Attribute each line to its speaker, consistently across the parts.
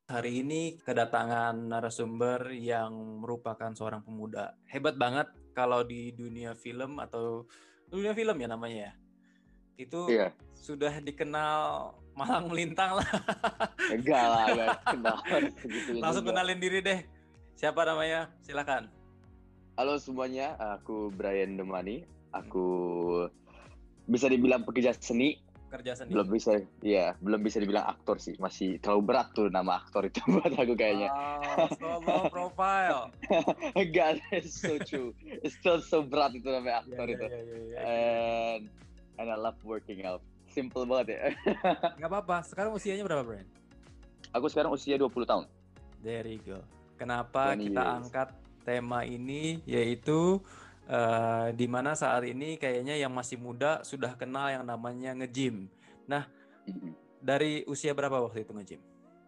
Speaker 1: Hari ini kedatangan narasumber yang merupakan seorang pemuda. Hebat banget kalau di dunia film atau dunia film ya namanya ya. Itu
Speaker 2: Iya,
Speaker 1: sudah dikenal malang melintang lah.
Speaker 2: enggak lah, enggak kenal segitunya
Speaker 1: Langsung
Speaker 2: juga.
Speaker 1: kenalin diri deh. Siapa namanya? Silakan.
Speaker 2: Halo semuanya, aku Brian Demani. Aku bisa dibilang pekerja seni,
Speaker 1: Kerja seni.
Speaker 2: belum bisa dibilang aktor sih. Masih terlalu berat tuh nama aktor itu buat aku kayaknya.
Speaker 1: Wow, so low profile.
Speaker 2: Enggak, it's so true. It's still so berat itu namanya
Speaker 1: Ya,
Speaker 2: aktor
Speaker 1: ya,
Speaker 2: itu.
Speaker 1: ya, ya, ya.
Speaker 2: And I love working out. Simple banget ya.
Speaker 1: Gak apa-apa. Sekarang usianya berapa, Brian?
Speaker 2: Aku sekarang usia 20 tahun.
Speaker 1: There you go. Kenapa
Speaker 2: 20
Speaker 1: kita
Speaker 2: years.
Speaker 1: angkat tema ini yaitu di mana saat ini kayaknya yang masih muda sudah kenal yang namanya nge-gym. Nah,
Speaker 2: Mhm.
Speaker 1: dari usia berapa waktu itu nge-gym?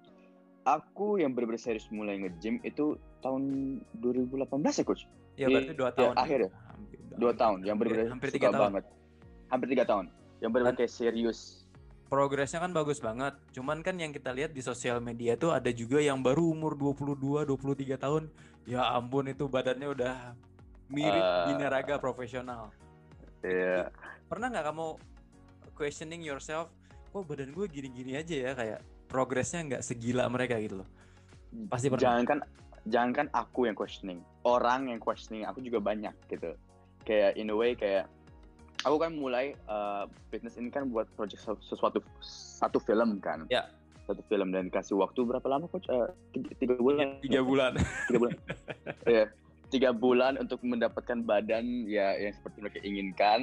Speaker 2: Aku yang benar-benar serius mulai nge-gym itu tahun 2018 ya, Coach?
Speaker 1: Ya berarti 2 tahun ya.
Speaker 2: Akhir ya.
Speaker 1: Hampir,
Speaker 2: 2 tahun, yang benar-benar
Speaker 1: hampir 3
Speaker 2: suka
Speaker 1: tahun.
Speaker 2: banget. Hampir 3 tahun. Yang benar-benar
Speaker 1: Dan
Speaker 2: kayak serius.
Speaker 1: progresnya kan bagus banget. Cuman kan yang kita lihat di sosial media tuh ada juga yang baru umur 22, 23 tahun. Ya ampun itu badannya udah mirip binaraga profesional. Itu
Speaker 2: Ya,
Speaker 1: pernah nggak kamu questioning yourself, kok badan gue gini-gini aja ya, kayak progresnya nggak segila mereka gitu loh. Pasti pernah.
Speaker 2: jangankan aku yang questioning. Orang yang questioning aku juga banyak gitu. Kayak in a way kayak aku kan mulai fitness ini kan buat project satu film kan.
Speaker 1: Ya,
Speaker 2: Satu film dan kasih waktu berapa lama, Coach? 3 bulan.
Speaker 1: 3 bulan.
Speaker 2: 3 bulan. Ya, 3 bulan untuk mendapatkan badan ya yang seperti mereka inginkan.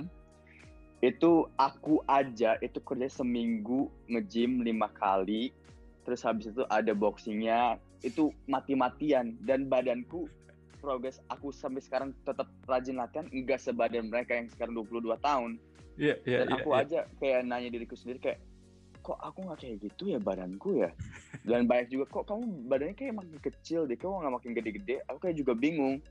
Speaker 2: Itu aku aja itu kerja seminggu nge-gym 5 kali, terus habis itu ada boxingnya, itu mati-matian, dan badanku progres aku sampai sekarang tetap rajin latihan enggak sebadan mereka yang sekarang 22 tahun.
Speaker 1: Iya, iya,
Speaker 2: Dan
Speaker 1: iya,
Speaker 2: aku
Speaker 1: iya.
Speaker 2: aja kayak nanya diriku sendiri kayak, kok aku nggak kayak gitu ya badanku ya. Dan banyak juga, kok kamu badannya kayak makin kecil deh, kok nggak makin gede-gede. Aku kayak juga bingung.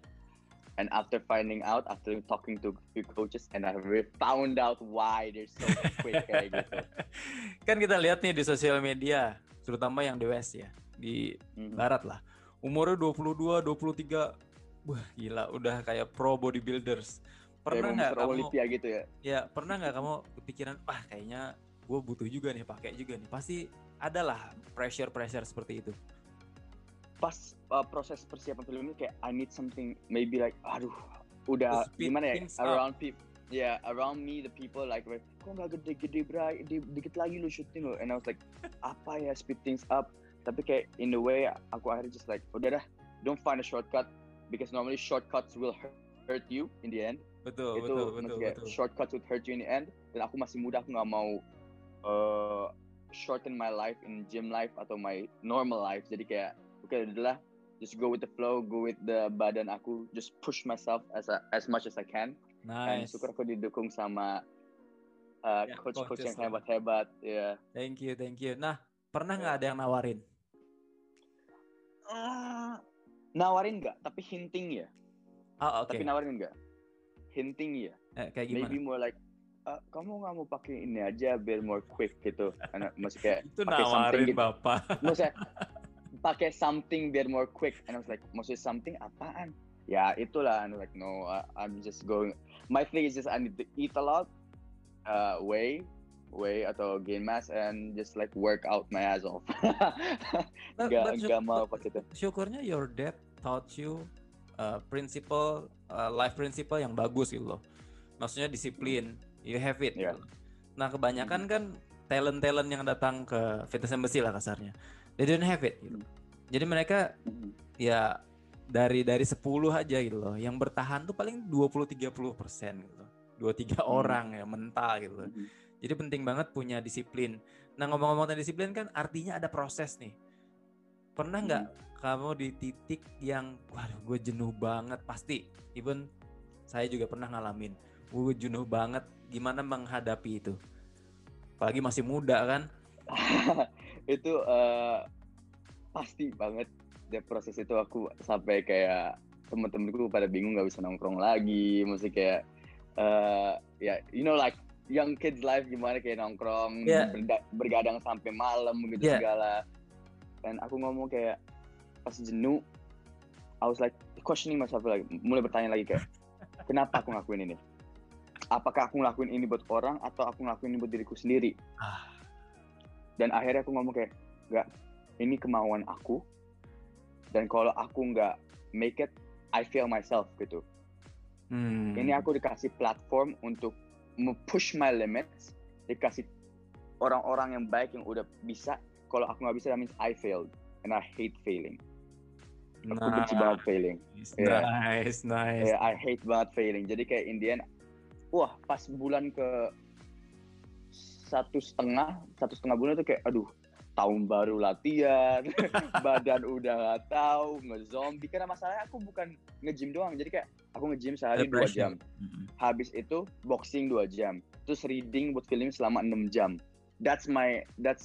Speaker 2: And after finding out, after talking to few coaches, and I really found out why they're so quick kayak gitu.
Speaker 1: Kan kita lihat nih di sosial media, terutama yang di West ya, di Barat lah. Umurnya 22, 23, wah gila, udah kayak pro bodybuilders.
Speaker 2: Kayak
Speaker 1: Pernah
Speaker 2: mau
Speaker 1: nggak
Speaker 2: Mr.
Speaker 1: kamu,
Speaker 2: Olympia gitu ya.
Speaker 1: ya pernah nggak kamu kepikiran, wah kayaknya gue butuh juga nih, pakai juga nih. Pasti adalah pressure seperti itu.
Speaker 2: Pas proses persiapan film ini kayak I need something maybe like aduh udah gimana ya around people around me the people like kok nggak gede-gede bray dikit lagi lu shooting lo, and I was like apa ya speed things up, tapi kayak in the way aku akhirnya just like udah dah, don't find a shortcut because normally shortcuts will hurt you in the end.
Speaker 1: Betul.
Speaker 2: Shortcuts would hurt you in the end, dan aku masih muda, aku nggak mau shorten my life in gym life atau my normal life. Jadi kayak okay, udahlah, just go with the flow, go with the badan aku, just push myself as much as I can. And
Speaker 1: Nice.
Speaker 2: syukur aku didukung sama coach yang
Speaker 1: lah.
Speaker 2: hebat-hebat. Yeah.
Speaker 1: Thank you. Nah, pernah nggak ada yang nawarin?
Speaker 2: Nawarin nggak, tapi hinting ya.
Speaker 1: Oh, oke.
Speaker 2: Tapi nawarin nggak, hinting ya.
Speaker 1: Kayak gimana?
Speaker 2: Maybe more like kamu nggak mau pakai ini aja biar more quick gitu. Karena masih kayak
Speaker 1: itu
Speaker 2: pakai something
Speaker 1: nawarin
Speaker 2: gitu.
Speaker 1: Bapak.
Speaker 2: Maksudnya pakai something biar more quick, and I was like maksudnya something apaan? Ya itulah, and like no, I'm just going. My thing is just I need to eat a lot, weigh atau gain mass, and just like work out my ass off. Gak mau pakai itu.
Speaker 1: Syukurnya your dad taught you life principle yang bagus gitu loh. Maksudnya disiplin, you have it.
Speaker 2: Yeah.
Speaker 1: Gitu. Nah kebanyakan kan talent yang datang ke fitness embassy lah kasarnya, they don't have it gitu. Jadi mereka ya dari 10 aja gitu loh, yang bertahan tuh paling 20-30% gitu. 2-3 orang ya mental gitu loh. Jadi penting banget punya disiplin. Nah ngomong-ngomong tentang disiplin kan artinya ada proses nih. Pernah nggak kamu di titik yang waduh gue jenuh banget? Pasti, even saya juga pernah ngalamin. Gue jenuh banget, gimana menghadapi itu? Apalagi masih muda kan?
Speaker 2: Itu pasti banget. Di proses itu aku sampai kayak temen-temenku pada bingung gak bisa nongkrong lagi. Mesti kayak ya you know like young kids life gimana, kayak nongkrong bergadang sampai malam gitu segala. and aku ngomong kayak pas jenuh, I was like questioning myself lagi, mulai bertanya lagi kayak kenapa aku ngelakuin ini? Apakah aku ngelakuin ini buat orang atau aku ngelakuin ini buat diriku sendiri? Dan akhirnya aku ngomong kayak enggak, ini kemauan aku, dan kalau aku nggak make it, I fail myself gitu. Ini aku dikasih platform untuk push my limits, dikasih orang-orang yang baik yang udah bisa. Kalau aku nggak bisa, that means I failed, and I hate failing. Aku benci banget failing.
Speaker 1: Nice.
Speaker 2: Yeah, I hate banget failing. Jadi kayak in the end, wah pas bulan ke satu setengah bulan itu kayak aduh, tahun baru latihan, badan udah nggak tahu, nge-zombie. Karena masalahnya aku bukan nge-gym doang, jadi kayak aku nge-gym sehari 2 jam. Habis itu boxing 2 jam, terus reading buat film selama 6 jam. That's my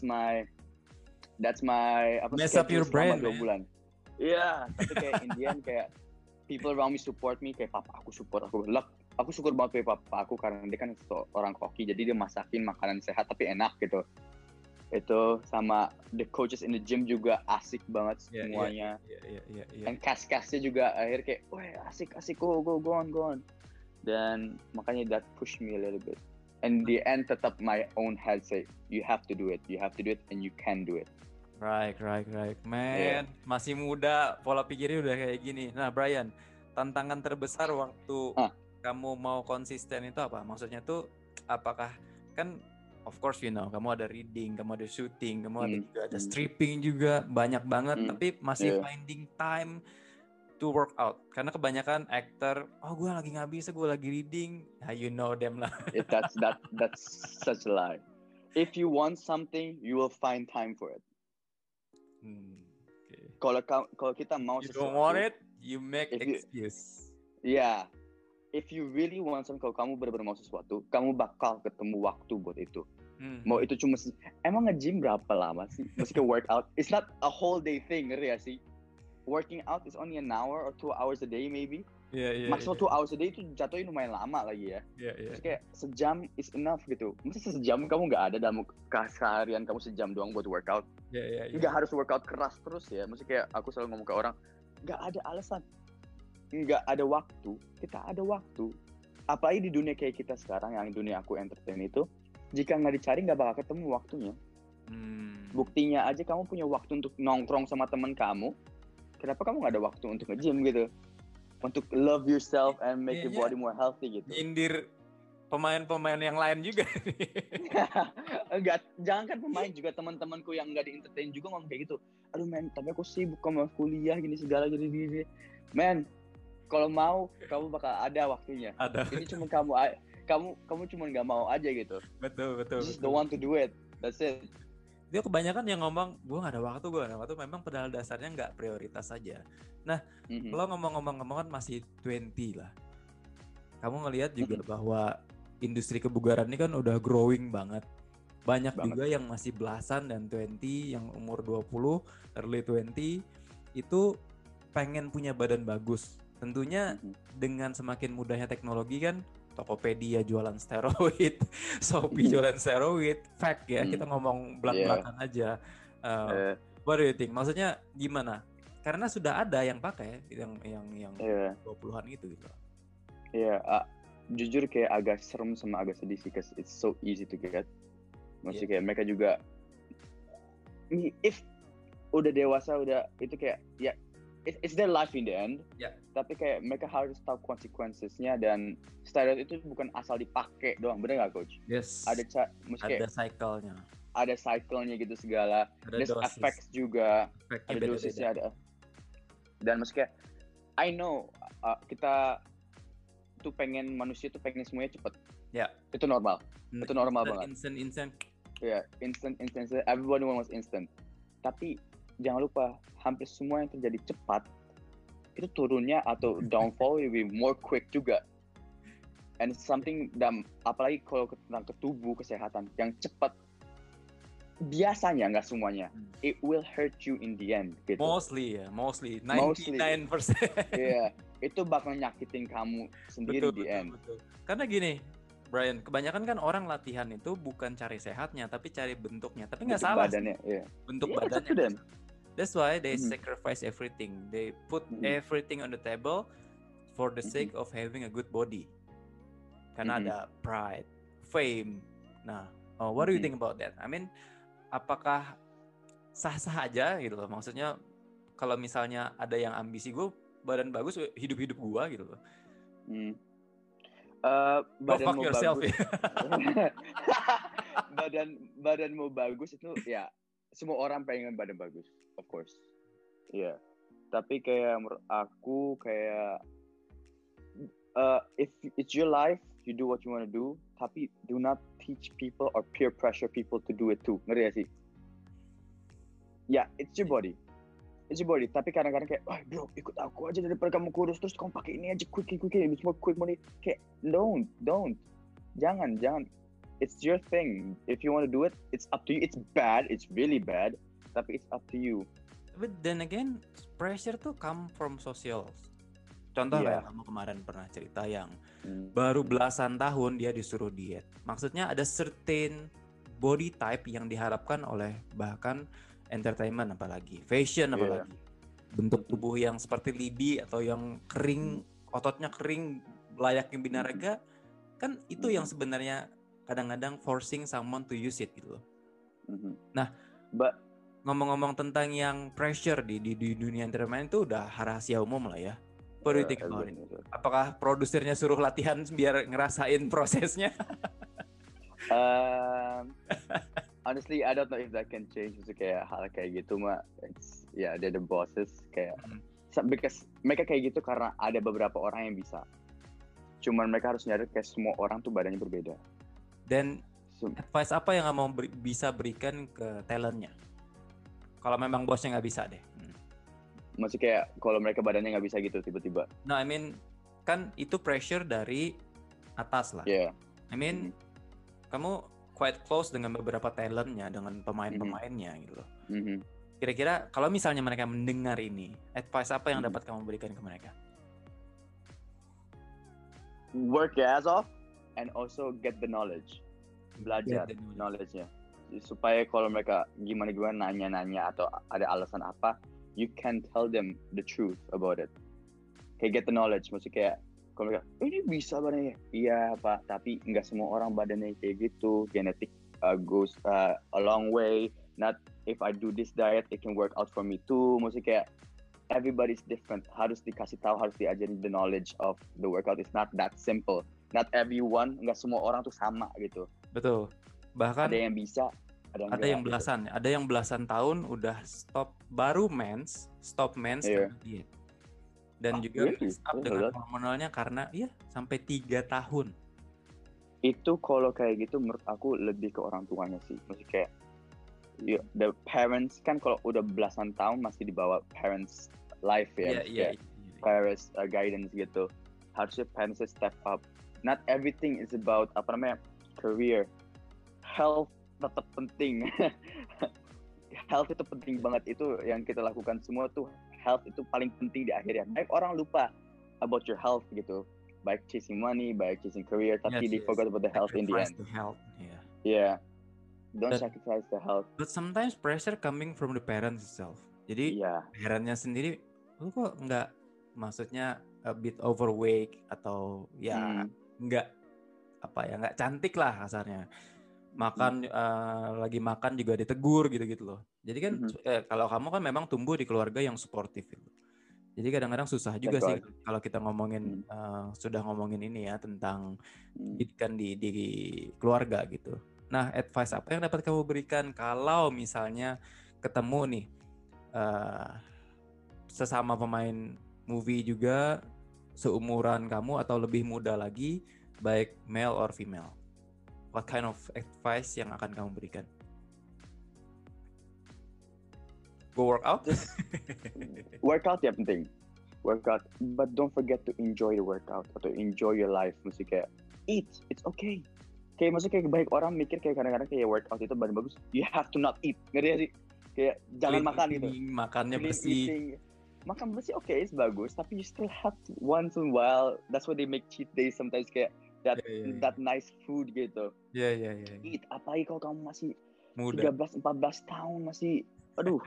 Speaker 1: mess up your brain,
Speaker 2: 2 bulan. Iya, tapi kayak in the end kayak people around me support me, kayak papa aku support aku. Aku syukur banget kayak papa aku karena dia kan orang koki, jadi dia masakin makanan sehat tapi enak gitu. Itu sama the coaches in the gym juga asik banget semuanya. Dan cast-castnya juga akhir kayak, wah asik go on. Dan makanya that push me a little bit. And the end tetap my own head say, you have to do it and you can do it.
Speaker 1: Right. Man, masih muda, pola pikirnya udah kayak gini. Nah, Brian, tantangan terbesar waktu kamu mau konsisten itu apa? Maksudnya tuh, apakah kan of course kamu ada reading, kamu ada shooting, kamu ada stripping juga, banyak banget, tapi masih finding time to work out. Karena kebanyakan actor, gue lagi nggak bisa, gue lagi reading, you know them lah.
Speaker 2: That's such a lie. If you want something, you will find time for it. Okay. Kalau kita mau
Speaker 1: sesuatu, you don't want it, you make excuse.
Speaker 2: Yeah. If you really want something, kalau kamu benar-benar mau sesuatu, kamu bakal ketemu waktu buat itu. Mau itu cuma emang nge-gym berapa lama sih? Maksudnya workout, it's not a whole day thing, ngerti ya sih? Working out is only an hour or 2 hours a day maybe. Maksimal 2 hours a day itu jatuhnya lumayan lama lagi ya. Terus kayak sejam is enough gitu. Masa sejam kamu nggak ada dalam keseharian kamu sejam doang buat workout? Nggak harus workout keras terus ya. Maksudnya kayak aku selalu ngomong ke orang, nggak ada alasan. Nggak ada waktu, kita ada waktu. Apalagi di dunia kayak kita sekarang, yang dunia aku entertain itu, jika nggak dicari nggak bakal ketemu waktunya. Buktinya aja kamu punya waktu untuk nongkrong sama teman kamu, kenapa kamu nggak ada waktu untuk nge-gym gitu? Untuk love yourself and make your body more healthy gitu.
Speaker 1: Nyindir pemain-pemain yang lain juga.
Speaker 2: Enggak, jangan kan pemain, juga teman-temanku yang nggak di-entertain juga ngomong kayak gitu. Aduh men, tapi aku sibuk sama kuliah gini segala gini. Men, kalau mau kamu bakal ada waktunya. Ini cuma kamu cuma nggak mau aja gitu.
Speaker 1: Betul.
Speaker 2: Just don't want to do it. That's it.
Speaker 1: Dia kebanyakan yang ngomong gue nggak ada waktu, memang padahal dasarnya nggak prioritas saja. Nah, lo ngomong kan masih 20 lah. Kamu ngelihat juga bahwa industri kebugaran ini kan udah growing banget. Banyak juga yang masih belasan dan 20, yang umur 20, early 20 itu pengen punya badan bagus. Tentunya dengan semakin mudahnya teknologi kan, Tokopedia jualan steroid, Shopee jualan steroid, fact ya, kita ngomong belak-belakan aja. What do you think? Maksudnya gimana? Karena sudah ada yang pakai, yang 20-an gitu.
Speaker 2: Jujur kayak agak serem sama agak sedih sih, because it's so easy to get. Maksudnya kayak mereka juga, if udah dewasa, udah itu kayak it's their life in the end. Tapi kayak mereka harus tahu consequences-nya, dan steroid itu bukan asal dipakai doang, bener nggak coach?
Speaker 1: Yes.
Speaker 2: Ada
Speaker 1: cycle-nya.
Speaker 2: Ada cycle-nya gitu segala. There's effects juga. Ada dosisnya ada. Dan maksudnya I know kita tuh manusia tuh pengen semuanya cepet. Itu normal. Itu normal banget.
Speaker 1: Instant.
Speaker 2: Instant. Everybody wants instant. Tapi jangan lupa, hampir semua yang terjadi cepat itu turunnya atau downfall will be more quick juga. And it's something apalagi kalau tentang tubuh, kesehatan yang cepat, biasanya nggak semuanya, it will hurt you in the end gitu.
Speaker 1: Mostly 99%.
Speaker 2: Itu bakal nyakitin kamu sendiri di end.
Speaker 1: Betul. Karena gini, Brian, kebanyakan kan orang latihan itu bukan cari sehatnya, tapi cari bentuknya. Tapi nggak salah.
Speaker 2: Badannya,
Speaker 1: bentuk badannya. That's why they sacrifice everything. They put everything on the table for the sake of having a good body. Karena ada pride, fame. Nah, what do you think about that? I mean, apakah sah-sah aja gitu loh? Maksudnya kalau misalnya ada yang ambisi gue badan bagus, hidup-hidup gue gitu loh.
Speaker 2: Badanmu
Speaker 1: bagus.
Speaker 2: badanmu bagus itu ya semua orang pengen badan bagus, of course. Iya. Yeah. Tapi kayak menurut aku kayak if it's your life, you do what you want to do. Tapi do not teach people or peer pressure people to do it too. Ngerti gak sih? Ya, yeah, it's your body. It's your body. Tapi kadang-kadang kayak, oh bro, ikut aku aja daripada kamu kurus terus kamu pakai ini aja quick, semua quick money. Kayak don't. Jangan. It's your thing. If you want to do it, it's up to you. It's bad. It's really bad. Tapi it's up to you.
Speaker 1: But then again, pressure tuh come from social. Contoh kayak kamu kemarin pernah cerita yang baru belasan tahun dia disuruh diet. Maksudnya ada certain body type yang diharapkan oleh bahkan entertainment apalagi, fashion apalagi. Bentuk tubuh yang seperti lidi atau yang kering, ototnya kering, layaknya binaraga. Kan itu yang sebenarnya kadang-kadang forcing someone to use it gitu loh. Nah, ngomong-ngomong tentang yang pressure di dunia entertainment itu udah rahasia umum lah ya. What do you think about it? Apakah produsernya suruh latihan biar ngerasain prosesnya?
Speaker 2: Honestly, I don't know if that can change. Kayak hal kayak gitu mah, they're the bosses kayak. Because mereka kayak gitu karena ada beberapa orang yang bisa. Cuman mereka harus nyadar kayak semua orang tuh badannya berbeda.
Speaker 1: Dan advice apa yang mau bisa berikan ke talentnya? Kalau memang bosnya nggak bisa deh.
Speaker 2: Maksudnya kayak kalau mereka badannya nggak bisa gitu tiba-tiba.
Speaker 1: No, I mean kan itu pressure dari atas lah.
Speaker 2: Yeah.
Speaker 1: I mean kamu quite close dengan beberapa talentnya, dengan pemain-pemainnya gitu loh. Kira-kira kalau misalnya mereka mendengar ini, advice apa yang dapat kamu berikan ke mereka?
Speaker 2: Work your ass off and also get the knowledge. Belajar knowledge-nya. Supaya kalau mereka gimana nanya-nanya atau ada alasan apa, you can tell them the truth about it. Kayak get the knowledge, maksudnya kayak kalau mereka, ini bisa badannya. Iya Pak, tapi nggak semua orang badannya kayak gitu. Genetic goes a long way. Not if I do this diet, it can work out for me too. Maksudnya kayak everybody's different. Harus dikasih tahu, harus diajarin the knowledge of the workout. It's not that simple. Not everyone, nggak semua orang tuh sama gitu.
Speaker 1: Betul. Bahkan
Speaker 2: ada yang bisa,
Speaker 1: ada yang belasan, gitu. Ada yang belasan tahun udah stop mens karena diet. Dan juga mess up dengan hormonalnya karena sampai 3 tahun.
Speaker 2: Itu kalau kayak gitu menurut aku lebih ke orang tuanya sih. Maksudnya kayak the parents kan kalau udah belasan tahun masih dibawa parents life ya. Parents guidance gitu. Harusnya parents step up. Not everything is about career. Health tetap penting. Health itu penting banget, itu yang kita lakukan semua tuh. Health itu paling penting di akhirnya. Baik orang lupa about your health gitu. Baik chasing money, baik chasing career, tapi they forgot about the health in the end. Yeah. Don't sacrifice the health.
Speaker 1: But sometimes pressure coming from the parents itself. Jadi parentnya sendiri, lu kok nggak, maksudnya a bit overweight atau nggak cantik lah kasarnya. Makan lagi makan juga ditegur gitu loh. Jadi kan kalau kamu kan memang tumbuh di keluarga yang suportif gitu. Jadi kadang-kadang susah juga sih kalau kita ngomongin sudah ngomongin ini ya tentang pendidikan di keluarga gitu. Nah, advice apa yang dapat kamu berikan kalau misalnya ketemu nih sesama pemain movie juga seumuran kamu atau lebih muda lagi, baik male or female? What kind of advice yang akan kamu berikan? Go work out?
Speaker 2: Workout ya penting. Workout, but don't forget to enjoy the workout atau enjoy your life. Mesti kayak eat, it's okay. Kayak maksudnya kayak baik orang mikir kayak kadang-kadang kayak workout itu badan bagus, you have to not eat. Ngerti gak sih? Kayak jangan makan gitu.
Speaker 1: Makannya bersih.
Speaker 2: Makan bersih oke, it's bagus, tapi you still have to once in a while. That's why they make cheat days sometimes kayak that nice food gitu.
Speaker 1: Iya.
Speaker 2: Eat, apalagi kalau kamu masih
Speaker 1: muda.
Speaker 2: 13-14 tahun masih aduh,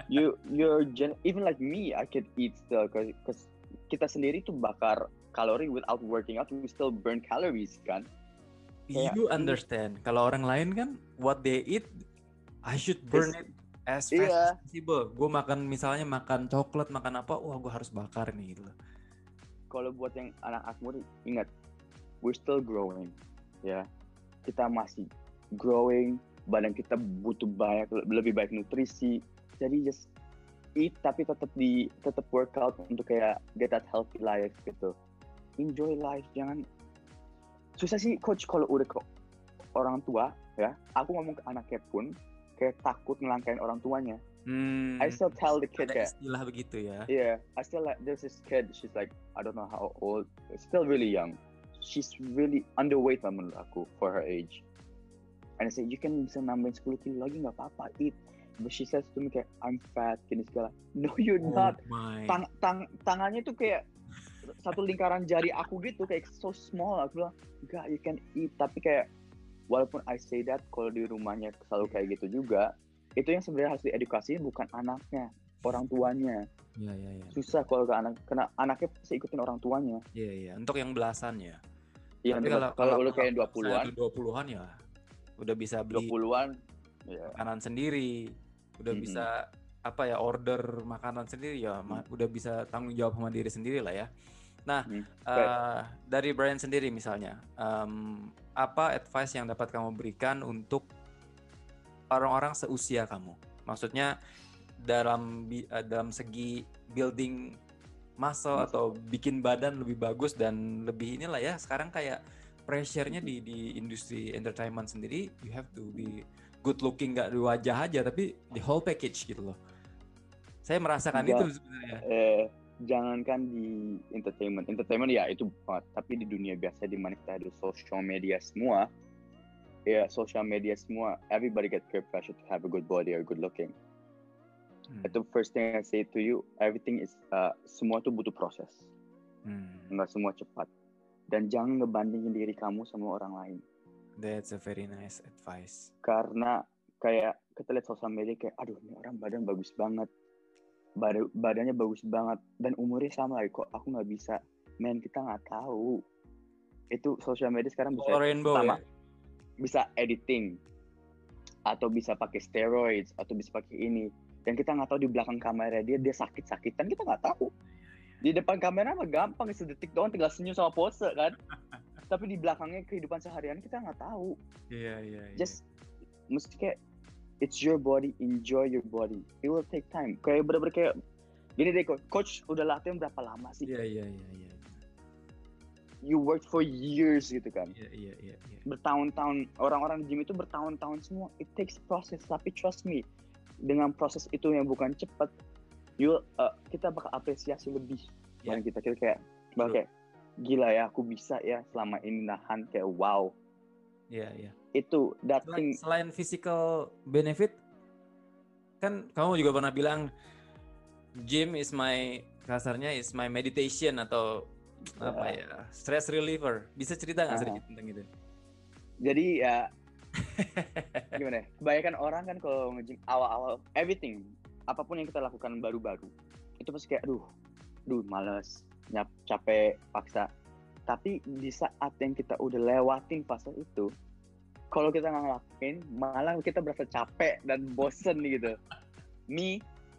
Speaker 2: even like me, I can eat still, cause kita sendiri tuh bakar kalori without working out, we still burn calories kan.
Speaker 1: You understand, kalau orang lain kan what they eat, I should burn it as fast as possible. Gue misalnya makan coklat, makan apa, wah gue harus bakar nih gitu.
Speaker 2: Kalau buat yang anak-anak muda, ingat, we're still growing, ya. Kita masih growing, badan kita butuh lebih baik nutrisi. Jadi just eat tapi tetap workout untuk kayak get that healthy life gitu. Enjoy life, jangan susah sih coach kalau udah ke orang tua ya. Aku ngomong ke anaknya pun kayak takut ngelangkain orang tuanya. I still tell the kid
Speaker 1: kayak istilah begitu ya.
Speaker 2: Yeah, I still like there's this kid, she's like I don't know how old, still really young. She's really underweight lah menurut aku for her age. And I say you can bisa nambahin 10 kilo lagi nggak apa-apa, eat. But she says to me kayak I'm fat gini segala. No you're not. Tangannya tuh kayak satu lingkaran jari aku gitu, kayak so small. Aku bilang enggak, you can eat. Tapi kayak walaupun I say that, kalau di rumahnya selalu kayak gitu juga, itu yang sebenarnya harus diedukasi bukan anaknya, orang tuanya.
Speaker 1: Iya.
Speaker 2: Susah kalau ke anak, karena anaknya pasti ikutin orang tuanya.
Speaker 1: Iya. Untuk yang belasan ya.
Speaker 2: Iya,
Speaker 1: tapi
Speaker 2: kalau udah kayak 20-an.
Speaker 1: 20-an ya udah bisa beli
Speaker 2: 20-an
Speaker 1: makanan sendiri, udah bisa order makanan sendiri ya, udah bisa tanggung jawab sama diri sendiri lah ya. Nah, dari Brian sendiri misalnya, apa advice yang dapat kamu berikan untuk orang-orang seusia kamu? Maksudnya dalam segi building muscle atau bikin badan lebih bagus dan lebih inilah ya, sekarang kayak pressure-nya di industri entertainment sendiri, you have to be good looking, gak di wajah aja tapi the whole package gitu loh. Saya merasakan itu sebenarnya.
Speaker 2: Jangankan di entertainment ya itu banget, tapi di dunia biasa di mana kita ada social media semua, everybody get peer pressure to have a good body or good looking. Itu first thing I say to you, everything is semua tuh butuh proses, nggak semua cepat, dan jangan ngebandingin diri kamu sama orang lain.
Speaker 1: That's a very nice advice.
Speaker 2: Karena kayak kita lihat sosial media kayak, aduh ini orang badan bagus banget, badannya bagus banget, dan umurnya sama lagi, kok aku nggak bisa. Men, kita nggak tahu. Itu sosial media sekarang bisa pertama, bisa editing, atau bisa pakai steroids, atau bisa pakai ini. Dan kita nggak tahu di belakang kamera dia sakit-sakitan, kita nggak tahu. Di depan kamera mah gampang, sedetik doang tinggal senyum sama pose kan. Tapi di belakangnya kehidupan seharian kita nggak tahu.
Speaker 1: Iya.
Speaker 2: Just mesti kayak it's your body, enjoy your body. It will take time. Kayak bener-bener kayak gini deh, coach udah latihan berapa lama sih?
Speaker 1: Iya.
Speaker 2: You worked for years gitu kan.
Speaker 1: Iya.
Speaker 2: Bertahun-tahun, orang-orang di gym itu bertahun-tahun semua. It takes process, tapi trust me, dengan proses itu yang bukan cepat, kita bakal apresiasi lebih. Dan kita kayak gila ya, aku bisa ya selama ini nahan, kayak wow.
Speaker 1: Iya.
Speaker 2: Itu
Speaker 1: selain physical benefit, kan kamu juga pernah bilang gym is my meditation atau stress reliever. Bisa cerita nggak sedikit tentang itu?
Speaker 2: Jadi ya gimana ya? Kebanyakan orang kan kalau nge-gym awal-awal, everything, apapun yang kita lakukan baru-baru, itu pasti kayak aduh malas, capek, paksa. Tapi di saat yang kita udah lewatin fase itu, kalau kita nggak ngelakuin, malah kita berasa capek dan bosen gitu. Me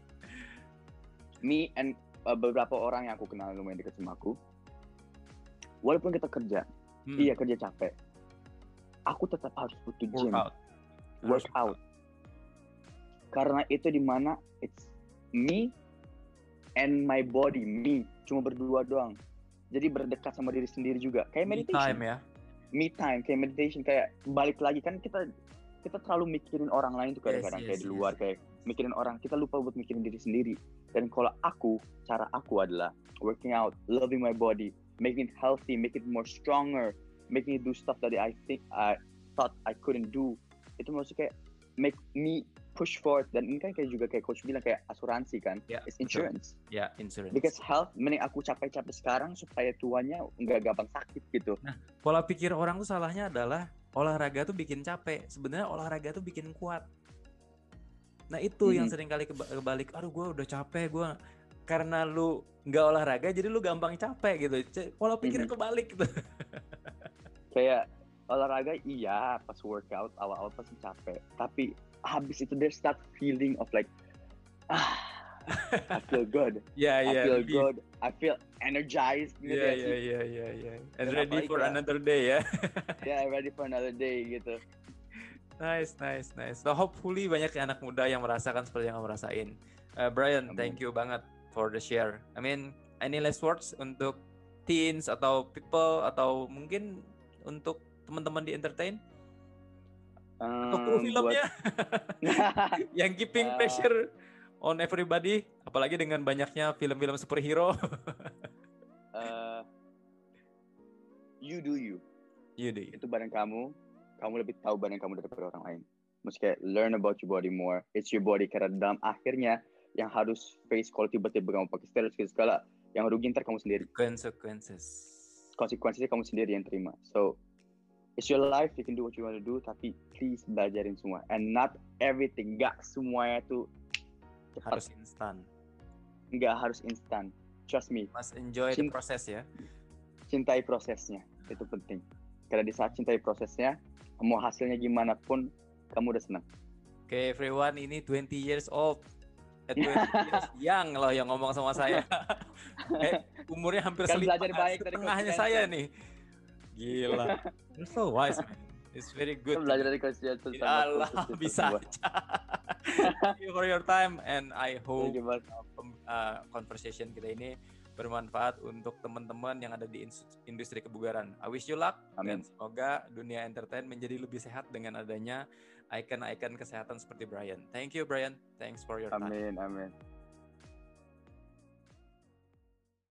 Speaker 2: and beberapa orang yang aku kenal lumayan dekat sama aku, walaupun kita kerja capek, aku tetap harus butuh gym, workout. Karena itu dimana it's me and my body, cuma berdua doang. Jadi berdekat sama diri sendiri juga, kayak meditation. Me time, kayak meditation, kayak balik lagi kan kita terlalu mikirin orang lain tuh kadang-kadang kayak di luar, kayak mikirin orang, kita lupa buat mikirin diri sendiri. Dan kalau cara aku adalah working out, loving my body, making it healthy, make it more stronger, making it do stuff that I thought I couldn't do. Itu maksudnya kayak make me push forward. Dan ini kan kayak juga kayak coach bilang, kayak asuransi kan, it's insurance.
Speaker 1: Insurance.
Speaker 2: Because health, mending aku capek-capek sekarang supaya tuanya nggak gampang sakit gitu.
Speaker 1: Nah, pola pikir orang tuh salahnya adalah olahraga tuh bikin capek. Sebenarnya olahraga tuh bikin kuat. Nah itu yang sering kali kebalik, aduh gue udah capek, gue karena lu nggak olahraga jadi lu gampang capek gitu. Pola pikirnya kebalik gitu.
Speaker 2: Kayak olahraga iya pas workout awal-awal pasti capek, tapi habis itu there's that feeling of like I feel good. I feel good. I feel energized gitu ya sih.
Speaker 1: Yeah. And ready for another day ya.
Speaker 2: Yeah, ready for another day gitu.
Speaker 1: Nice. So hopefully banyak anak muda yang merasakan seperti yang kamu rasain. Brian, thank you banget for the share. I mean, any last words untuk teens atau people atau mungkin untuk teman-teman di entertain? Atau kru filmnya yang keeping pressure on everybody, apalagi dengan banyaknya film-film superhero.
Speaker 2: You do you. Itu badan kamu lebih tahu badan kamu daripada orang lain. Mesti kayak learn about your body more. It's your body, karena dalam akhirnya yang harus face kalau tiba-tiba kamu pakai steroid segala, yang rugi ntar kamu sendiri. Konsekuensinya kamu sendiri yang terima. So it's your life, you can do what you want to do, tapi please belajarin semua. And not everything, nggak semuanya tuh
Speaker 1: harus instan.
Speaker 2: Nggak harus instan. Trust me.
Speaker 1: Must enjoy the process ya.
Speaker 2: Cintai prosesnya, itu penting. Karena di saat cintai prosesnya, mau hasilnya gimana pun, kamu udah senang.
Speaker 1: Okay, everyone, ini 20 years old. 20 years young loh yang ngomong sama saya. Umurnya hampir setengahnya saya nih. Gila. You're so wise, man. It's very good.
Speaker 2: Belajar dari Coach Jensen.
Speaker 1: Allah, bisa aja. Thank you for your time, and I hope conversation kita ini bermanfaat untuk teman-teman yang ada di industri kebugaran. I wish you luck.
Speaker 2: Amin.
Speaker 1: Dan semoga dunia entertain menjadi lebih sehat dengan adanya icon-icon kesehatan seperti Brian. Thank you, Brian. Thanks for your time.
Speaker 2: Amin.